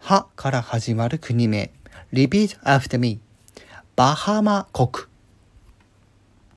はから始まる国名。Repeat after me. バハマ国。